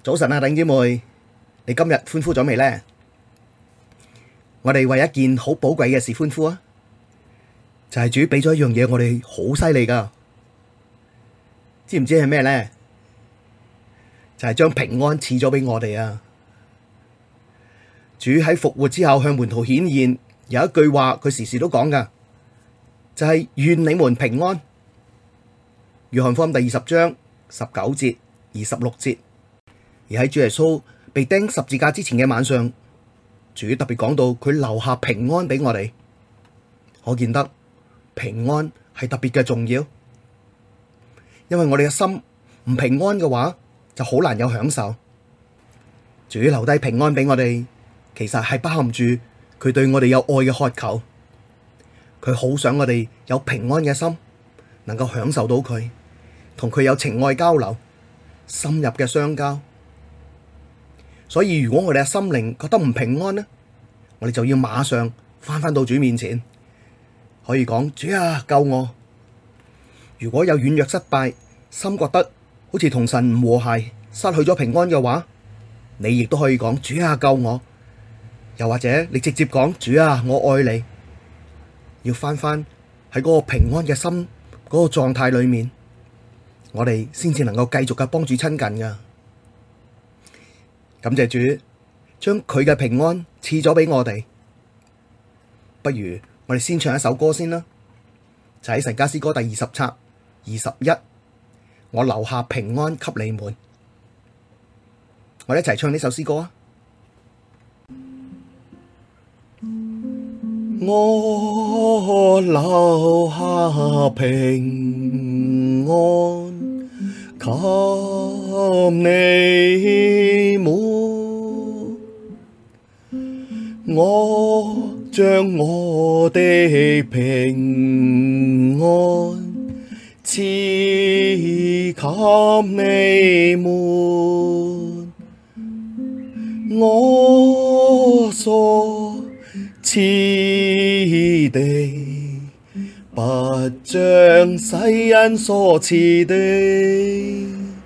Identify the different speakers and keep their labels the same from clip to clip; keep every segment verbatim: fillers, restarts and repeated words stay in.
Speaker 1: 早晨啊，弟兄姊妹，你今日歡呼咗未呢？我哋為一件好寶貴嘅事歡呼啊！就係主俾咗一樣嘢，我哋好犀利噶，知唔知係咩呢？就係將平安賜咗俾我哋啊！主喺復活之後向門徒顯現，有一句話佢時時都講噶，就係願你們平安。約翰福音第二十章十九節、二十六節。而喺主耶穌被釘十字架之前嘅晚上，主特別講到佢留下平安俾我哋，可見得平安係特別嘅重要。因為我哋嘅心唔平安嘅話，就好難有享受。主留低平安俾我哋，其實係包含住佢對我哋有愛嘅渴求，佢好想我哋有平安嘅心，能夠享受到佢，同佢有情愛交流，深入嘅相交。所以如果我哋嘅心靈覺得唔平安呢，我哋就要馬上翻返到主面前，可以講主啊，救我。如果有軟弱失敗，心覺得好似同神唔和諧，失去咗平安嘅話，你亦都可以講主啊，救我。又或者你直接講主啊，我愛你。要翻返喺嗰個平安嘅心嗰個狀態裏面，我哋先至能夠繼續嘅幫主親近噶。感謝主將佢嘅平安賜咗俾我哋。不如我哋先唱一首歌先啦，就喺神家詩歌第二十冊二十一，我留下平安給你們。我哋一齊唱呢首詩歌啊！我留下平安給你們，我將我的平安賜給你們，我所賜的不像世人所賜的，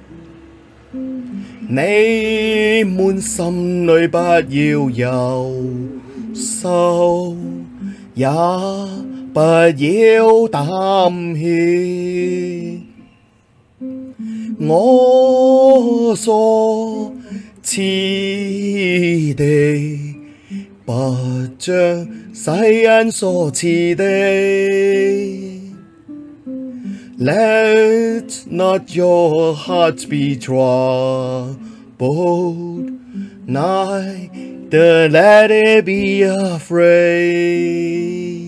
Speaker 1: 你們心裡不要憂愁，也不要擔歇，我所賜的不像世人所賜的。Let not your hearts be troubled, neither let it be afraid。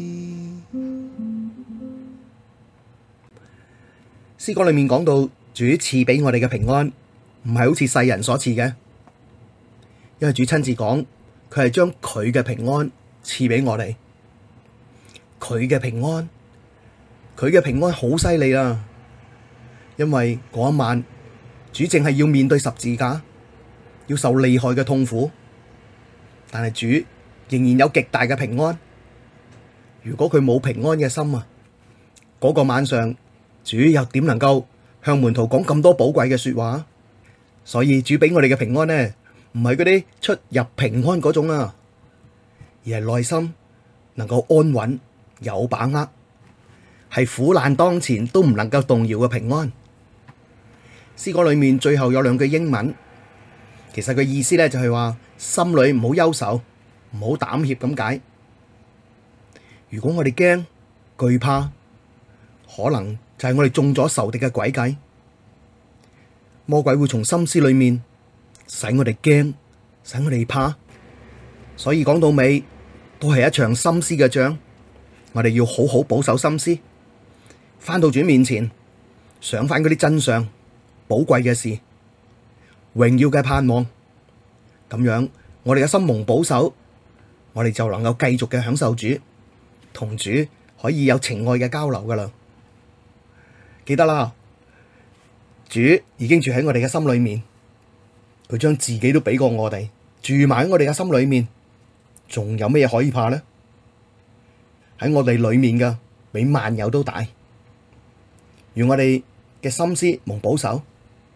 Speaker 1: 詩歌裏面講到主賜俾我哋嘅平安，唔係好似世人所賜嘅，因為主親自講，佢係將佢嘅平安賜俾我哋，佢嘅平安。佢嘅平安好犀利啊！因為嗰一晚主正係要面對十字架，要受厲害嘅痛苦，但係主仍然有極大嘅平安。如果佢冇平安嘅心啊，嗰個晚上主又點能夠向門徒講咁多寶貴嘅說話？所以主俾我哋嘅平安呢，唔係嗰啲出入平安嗰種啊，而係內心能夠安穩有把握，係苦難當前都唔能夠動搖嘅平安。詩歌裏面最後有兩句英文，其實個意思咧就係話心裏唔好憂愁，唔好膽怯咁解。如果我哋驚懼怕，可能就係我哋中咗仇敵嘅詭計，魔鬼會從心思裏面使我哋驚，使我哋怕。所以講到尾都係一場心思嘅仗，我哋要好好保守心思。返到主面前，想返嗰啲真相、寶貴嘅事、榮耀嘅盼望，咁樣我哋嘅心蒙保守，我哋就能夠繼續嘅享受主，同主可以有情愛嘅交流噶啦。記得啦，主已經住喺我哋嘅心裏面，佢將自己都俾過我哋，住埋喺我哋嘅心裏面，仲有咩嘢可以怕呢？喺我哋裏面嘅，比萬有都大。願我哋嘅心思蒙保守，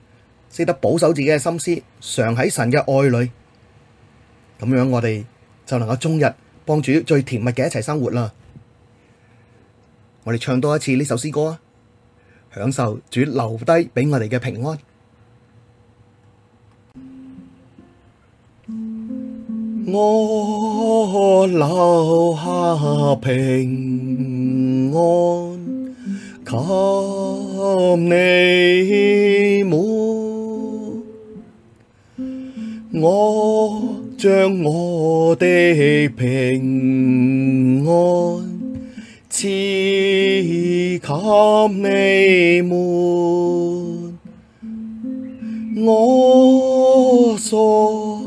Speaker 1: 識得保守自己嘅心思，常喺神嘅愛裡，咁樣我哋就能夠終日幫主最甜蜜嘅一齊生活啦。我哋唱多一次呢首詩歌啊，享受主留低畀我哋嘅平安。我留下平安給你們，我將我的平安賜給你們，我所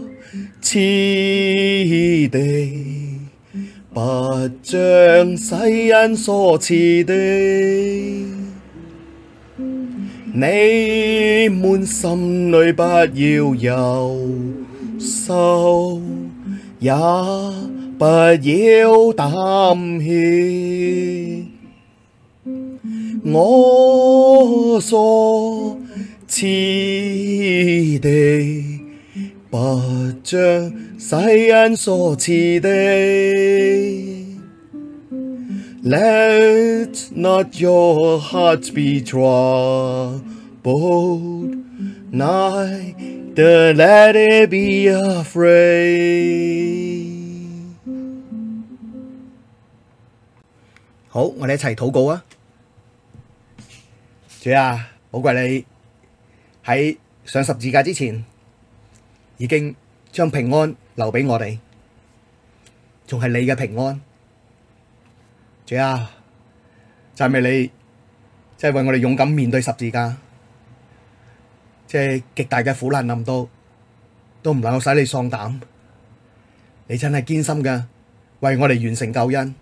Speaker 1: 賜的不像世人所賜的，你們心裡不要憂愁，也不要擔歇，我所賜的不像世人所賜的。Let not your hearts be troubled, neither let it be afraid。好，我哋一齊禱告啊！主啊，寶貴你喺上十字架之前，已經將平安留畀我哋，仲係你嘅平安。主啊，讚美你，即係為我哋勇敢面對十字架，即係極大嘅苦難臨到，都唔能夠使你喪膽。你真係堅心嘅，為我哋完成救恩。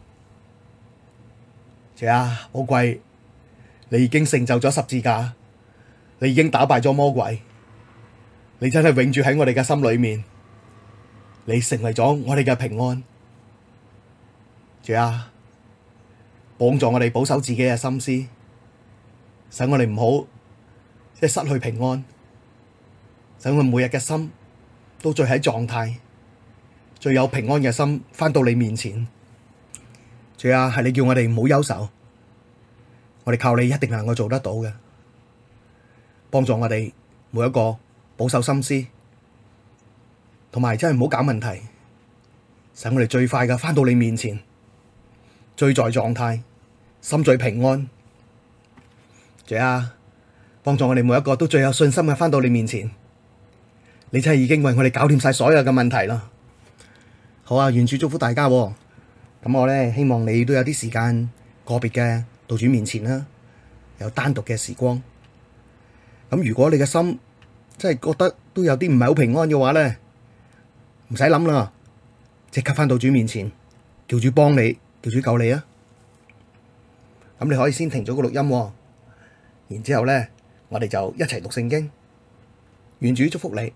Speaker 1: 主啊，寶貴，你已經成就咗十字架，你已經打敗咗魔鬼，你真係永住喺我哋嘅心裏面，你成為咗我哋嘅平安。主啊，幫助我哋保守自己嘅心思，使我哋唔好即係失去平安，使我哋每日嘅心都最喺狀態，最有平安嘅心返到你面前。主啊，係你叫我哋唔好憂愁，我哋靠你一定能夠做得到嘅，幫助我哋每一個保守心思，同埋真係唔好搞問題，使我哋最快嘅返到你面前，最在狀態，心最平安。主啊，幫助我哋每一個都最有信心嘅返到你面前，你真係已經為我哋搞掂晒所有嘅問題啦。好啊，願主祝福大家喎。咁我咧希望你都有啲時間個別嘅到主面前啦，有單獨嘅時光。咁如果你嘅心真係覺得都有啲唔係好平安嘅話咧，唔使諗啦，即刻返到主面前，叫主幫你，叫主救你啊！咁你可以先停咗個錄音喎，然之後咧，我哋就一齊讀聖經。願主祝福你。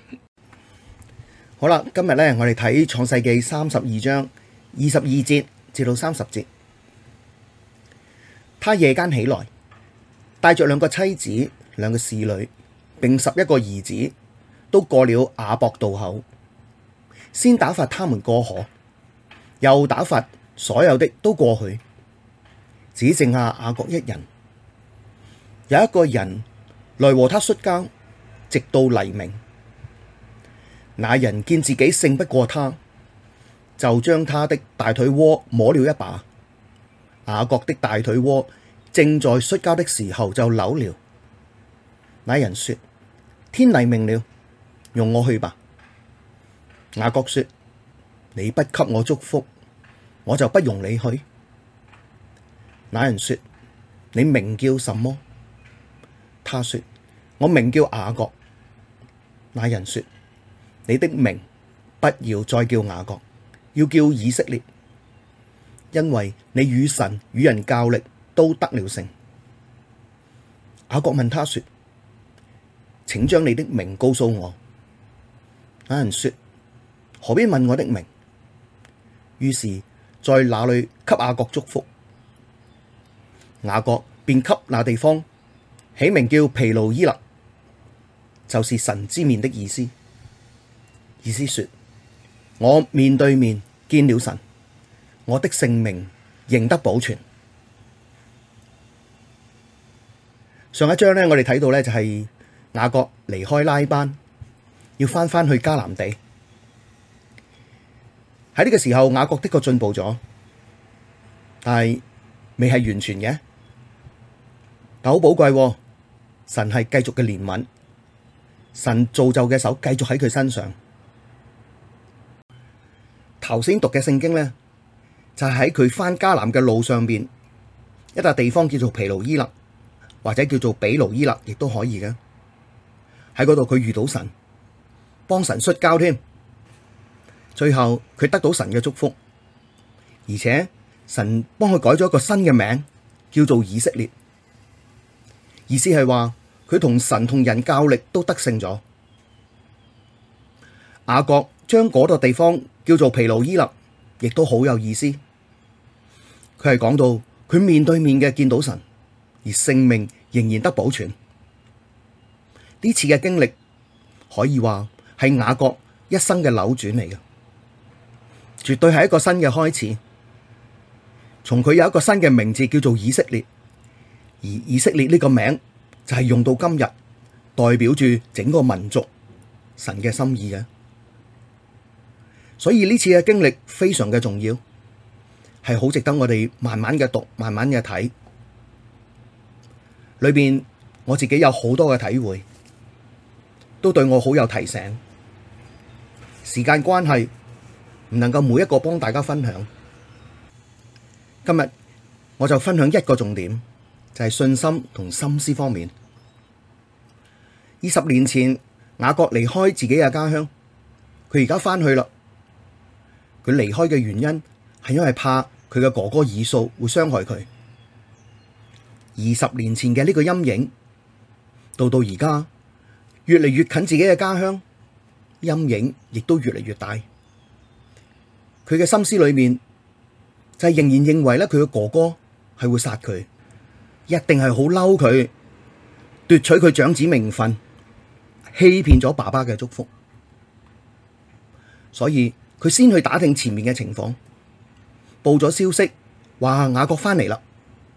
Speaker 1: 好啦，今日咧我哋睇創世記三十二章二十二節至到三十節。他夜間起來，帶着兩個妻子、兩個使女，並十一個兒子，都過了雅博渡口，先打發他們過河，又打發所有的都過去，只剩下雅各一人。有一個人來和他摔跤，直到黎明。那人見自己勝不過他，就將他的大腿窩摸了一把。雅各的大腿窩正在摔跤的時候就扭了。那人說：天黎明了，容我去吧。雅各說：你不給我祝福，我就不容你去。那人說：你名叫什麼？他說：我名叫雅各。那人說：你的名不要再叫雅各，要叫以色列，因為你與神與人較力都得了勝。雅各問他說：請將你的名告訴我。那人說：何必問我的名？於是在那裡給雅各祝福。雅各便給那地方起名叫毘努伊勒， 就是神之面的意思。意思說，我面對面見了神，我的性命仍得保存。上一章呢，我哋睇到呢就係雅各離開拉班，要翻返去迦南地。喺呢個時候，雅各的確進步咗，但係未係完全嘅。但好寶貴，神係繼續嘅憐憫，神造就嘅手繼續喺佢身上。頭先讀嘅聖經呢，就係喺佢返迦南嘅路上邊一笪地方叫做毗努伊勒，或者叫做比努伊勒，亦都可以嘅。喺嗰度佢遇到神，幫神摔跤添。最後佢得到神嘅祝福，而且神幫佢改咗一個新嘅名，叫做以色列。意思係話佢同神同人較力都得勝咗。雅各將嗰個地方叫做毗努伊勒，亦都好有意思。佢係講到佢面對面嘅見到神，而性命仍然得保存。呢次嘅經歷可以話係雅各一生嘅扭轉嚟嘅，絕對係一個新嘅開始。從佢有一個新嘅名字叫做以色列，而以色列呢個名就係用到今日，代表住整個民族神嘅心意嘅。所以呢次嘅經歷非常嘅重要，係好值得我哋慢慢嘅讀，慢慢嘅睇。裏邊我自己有好多嘅體會，都對我好有提醒。時間關係唔能夠每一個幫大家分享，今日我就分享一個重點，就係信心同心思方面。二十年前雅各離開自己嘅家鄉，佢而家翻去啦。佢離開嘅原因係因為怕佢嘅哥哥以掃會傷害佢。二十年前嘅呢個陰影，到到而家越嚟越近自己嘅家鄉，陰影亦都越嚟越大。佢嘅心思裏面就係仍然認為咧，佢嘅哥哥係會殺佢，一定係好嬲佢，奪取佢長子名分，欺騙咗爸爸嘅祝福。所以佢先去打聽前面嘅情況，報咗消息話雅各翻嚟啦。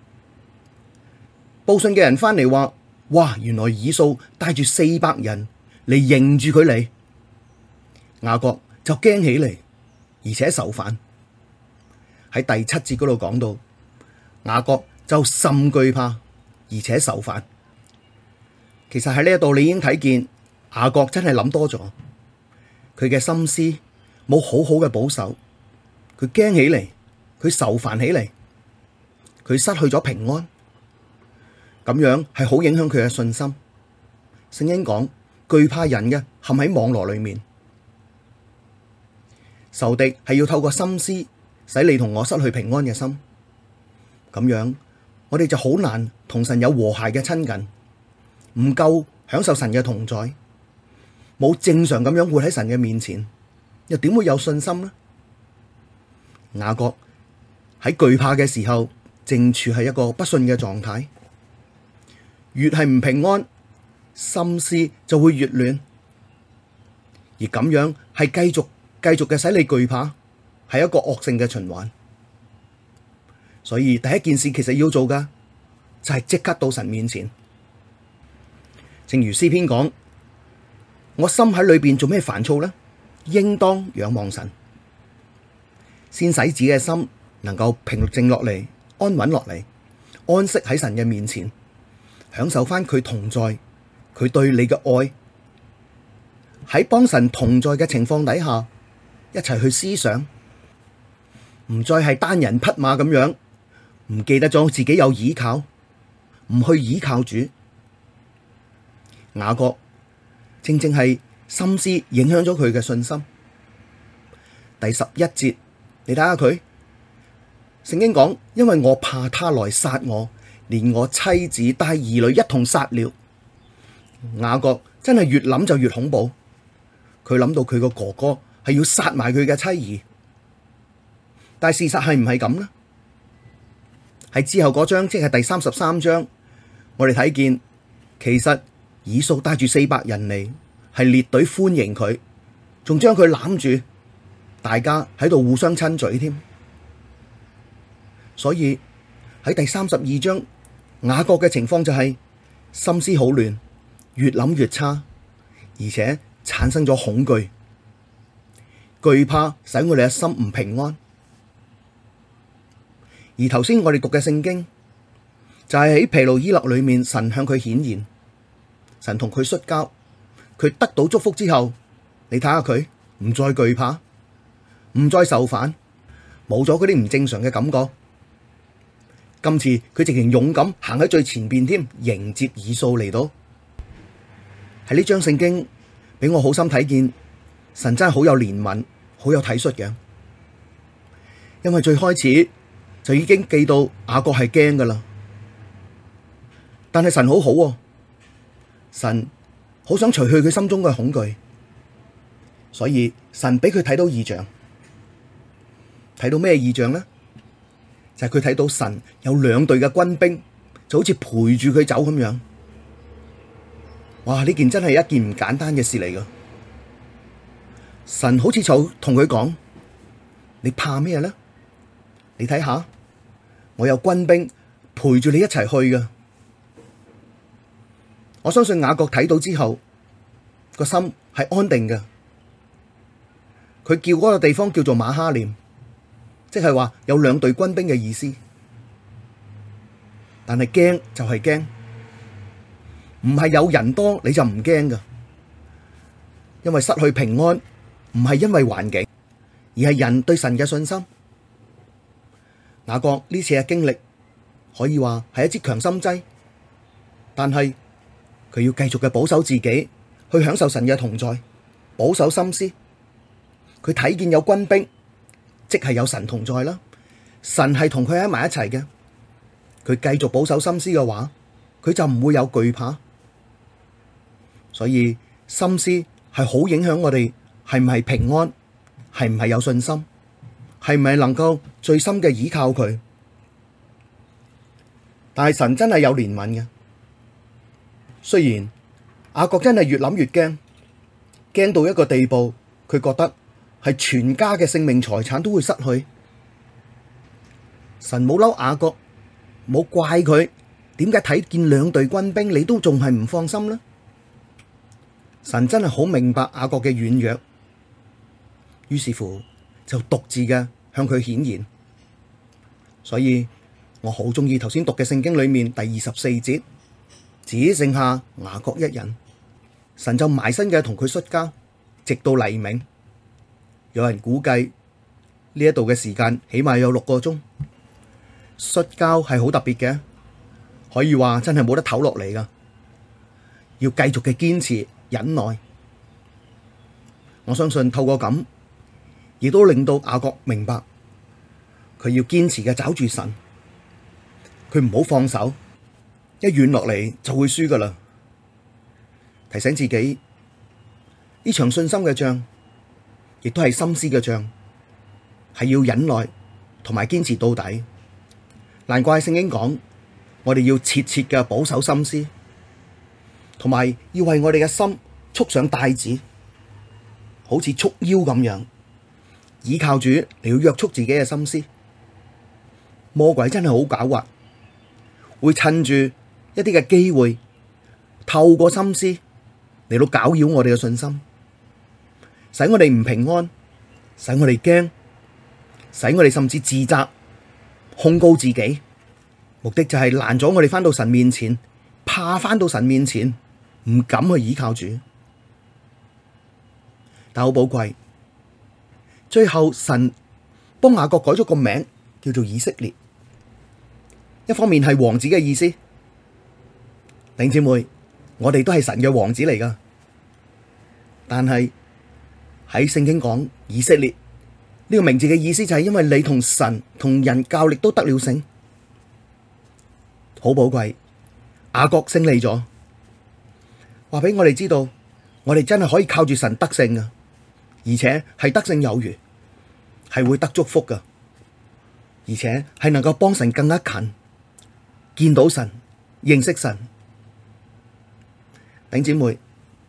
Speaker 1: 報信嘅人翻嚟話：哇，原來以掃帶住四百人嚟迎住佢嚟。雅各就驚起嚟，而且愁煩。喺第七節嗰度講到，雅各就甚懼怕，而且愁煩。其實喺呢一度你已經睇見雅各真係諗多咗，佢嘅心思冇好好嘅保守，佢驚起嚟，佢愁煩起嚟，佢失去咗平安，咁樣係好影響佢嘅信心。聖經講，懼怕人嘅陷喺網羅裏面，仇敵係要透過心思使你同我失去平安嘅心，咁樣我哋就好難同神有和諧嘅親近，唔夠享受神嘅同在，冇正常咁樣活喺神嘅面前，又點會有信心呢？雅各喺懼怕嘅時候，正處係一個不信嘅狀態，越係唔平安，心思就會越亂，而咁樣係繼續繼續嘅使你懼怕，係一個惡性嘅循環。所以第一件事其實要做嘅就係即刻到神面前，正如詩篇講：我心喺裏邊做咩煩躁呢？應當仰望神，先使自己嘅心能夠平靜落嚟，安穩落嚟，安息喺神嘅面前，享受翻佢同在，佢對你嘅愛。喺幫神同在嘅情況底下，一齊去思想，唔再係單人匹馬咁樣，唔記得咗自己有倚靠，唔去倚靠主。雅各正正係心思影響咗佢嘅信心。第十一節，你睇下佢，聖經講：因為我怕他來殺我，連我妻子帶兒女一同殺了。雅各真係越諗就越恐怖，佢諗到佢個哥哥係要殺埋佢嘅妻兒，但係事實係唔係咁呢？喺之後嗰章，即係第三十三章，我哋睇見其實以掃帶住四百人嚟，係列隊歡迎佢，仲將佢攬住，大家喺度互相親嘴添。所以喺第三十二章，雅各嘅情況就係心思好亂，越諗越差，而且產生咗恐懼，懼怕使我哋嘅心唔平安。而頭先我哋讀嘅聖經就係喺毗努伊勒裏面，神向佢顯現，神同佢摔跤，佢得到祝福之後，你睇下佢唔再懼怕，唔再受煩，冇咗嗰啲唔正常嘅感覺。今次佢直情勇敢行喺最前邊添，迎接以掃嚟到。喺呢章聖經俾我好心睇見，神真係好有憐憫，好有體恤嘅。因為最開始就已經記到雅各係驚噶啦，但係神好好喎，神好想除去佢心中嘅恐懼，所以神俾佢睇到異象。睇到咩異象呢？就係佢睇到神有兩隊嘅軍兵，就好似陪住佢走咁樣。哇！呢件真係一件唔簡單嘅事嚟噶。神好似就同佢講：你怕咩呢？你睇下，我有軍兵陪住你一齊去噶。我相信雅各睇到之後，個心係安定嘅。佢叫嗰個地方叫做馬哈念，即係話有兩隊軍兵嘅意思。但係驚就係驚，唔係有人多你就唔驚噶。因為失去平安唔係因為環境，而係人對神嘅信心。雅各呢次嘅經歷可以話係一支強心劑，但係佢要繼續嘅保守自己，去享受神嘅同在，保守心思。佢睇見有軍兵，即係有神同在啦。神係同佢喺埋一齊嘅，佢繼續保守心思嘅話，佢就唔會有懼怕。所以心思係好影響我哋係唔係平安，係唔係有信心，係唔係能夠最深嘅倚靠佢。但係神真係有憐憫嘅，雖然雅各真係越諗越驚，驚到一個地步，佢覺得係全家嘅性命財產都會失去。神冇嬲雅各，冇怪佢，點解睇見兩隊軍兵你都仲係唔放心呢？神真係好明白雅各嘅軟弱，於是乎就獨自嘅向佢顯現。所以我好中意頭先讀嘅聖經裏面第二十四節，只剩下雅各一人，神就埋身嘅同佢摔跤，直到黎明。有人估計呢一度嘅時間起碼有六個鐘。摔跤係好特別嘅，可以話真係冇得唞落嚟噶，要繼續嘅堅持忍耐。我相信透過咁，亦都令到雅各明白，佢要堅持嘅抓住神，佢唔好放手，一軟落嚟就會輸噶啦。提醒自己呢場信心嘅仗，亦都係心思嘅仗，係要忍耐同埋堅持到底。難怪聖經講，我哋要切切嘅保守心思，同埋要為我哋嘅心束上帶子，好似束腰咁樣，倚靠主嚟要約束自己嘅心思。魔鬼真係好狡猾，會趁住一啲嘅機會，透過心思嚟到攪擾我哋嘅信心，使我哋唔平安，使我哋驚，使我哋甚至自責、控告自己，目的就係攔咗我哋返到神面前，怕返到神面前，唔敢去倚靠主。但好寶貴，最後神幫雅各改咗個名，叫做以色列。一方面係王子嘅意思，弟兄姊妹，我哋都係神嘅王子嚟噶。但係喺聖經講以色列呢個名字嘅意思就係因為你同神同人較力都得了勝，好寶貴。雅各勝利咗，話俾我哋知道，我哋真係可以靠住神得勝噶，而且係得勝有餘，係會得祝福噶，而且係能夠幫神更加近，見到神，認識神。 弟兄姊妹，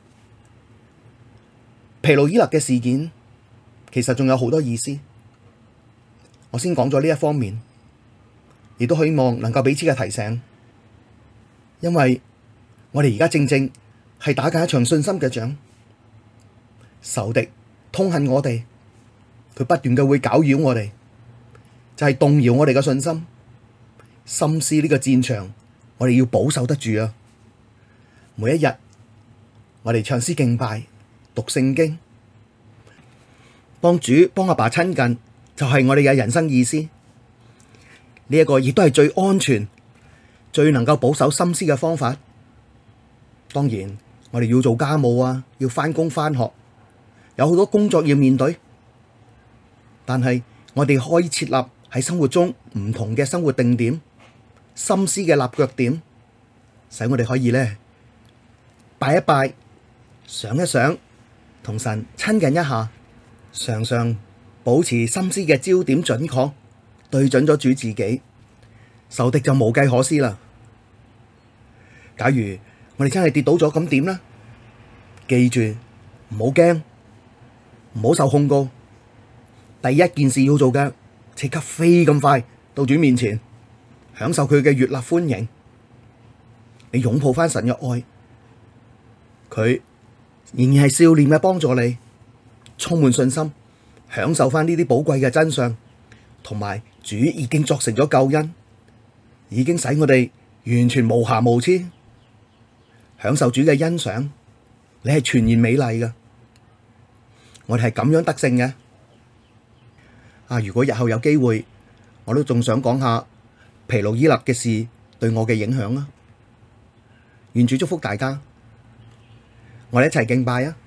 Speaker 1: 疲勞伊勒嘅事件其實仲有好多意思，我先講咗呢一方面，亦都希望能夠彼此嘅提醒，因為我哋而家正正係打緊一場信心嘅仗，仇敵痛恨我哋，佢不斷嘅會攪擾我哋，就係動搖我哋嘅信心。心思呢個戰場，我哋要保守得住啊！每一日，我哋唱詩敬拜、讀聖經、幫主、幫阿爸親近，就係我哋嘅人生意思。呢一個亦都係最安全、最能夠保守心思嘅方法。當然，我哋要做家務啊，要返工返學，有好多工作要面對。但係我哋可以設立喺生活中唔同嘅生活定點、心思嘅立腳點，使我哋可以咧拜一拜、想一想，同神親近一下，常常保持心思嘅焦點準確，對準咗主自己，仇敵就無計可施啦。假如我哋真係跌倒咗，咁點呢？記住唔好驚，唔好受控告。第一件事要做嘅，即刻飛咁快到主面前，享受佢嘅悅納歡迎。你擁抱翻神嘅愛，佢仍然係笑臉嘅幫助你，充滿信心，享受翻呢啲寶貴嘅真相，同埋主已經作成咗救恩，已經使我哋完全無瑕無疵。享受主嘅欣賞，你係全然美麗嘅，我哋係咁樣得勝嘅。啊！如果日後有機會，我都仲想講下疲勞伊勒嘅事對我嘅影響啊！願主祝福大家，我哋一齊敬拜啊！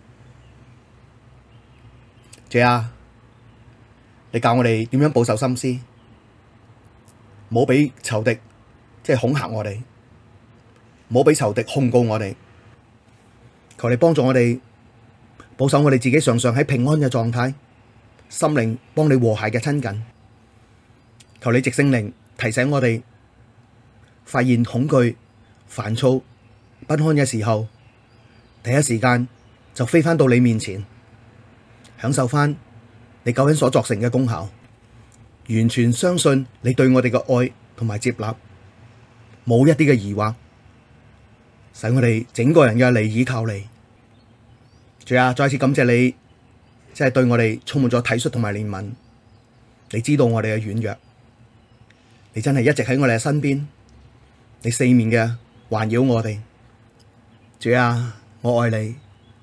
Speaker 1: 主啊，你教我哋點樣保守心思，唔好俾仇敵即係恐嚇我哋。唔好俾仇敵控告我哋，求你幫助我哋保守我哋自己，常常喺平安嘅狀態，心靈幫你和諧嘅親近。求你藉聖靈提醒我哋，發現恐懼、煩躁、不安嘅時候，第一時間就飛返到你面前，享受返你救恩所作成嘅功效，完全相信你對我哋嘅愛同埋接納，冇一啲嘅疑惑。使我哋整個人嘅嚟倚靠你，主啊，再次感謝你，即係對我哋充滿咗體恤同埋憐憫。你知道我哋嘅軟弱，你真係一直喺我哋嘅身邊，你四面嘅環繞我哋。主啊，我愛你。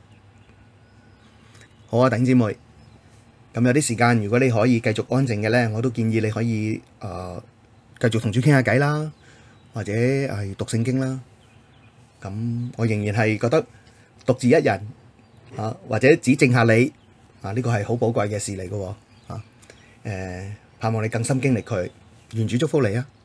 Speaker 1: 好啊，弟兄姊妹，咁有啲時間，如果你可以繼續安靜嘅咧，我都建議你可以誒、呃、繼續同主傾下偈啦，或者係讀聖經啦。咁我仍然係覺得獨自一人啊，或者指正下你啊，呢個係好寶貴嘅事嚟嘅啊。誒，盼望你更深經歷佢，願主祝福你啊！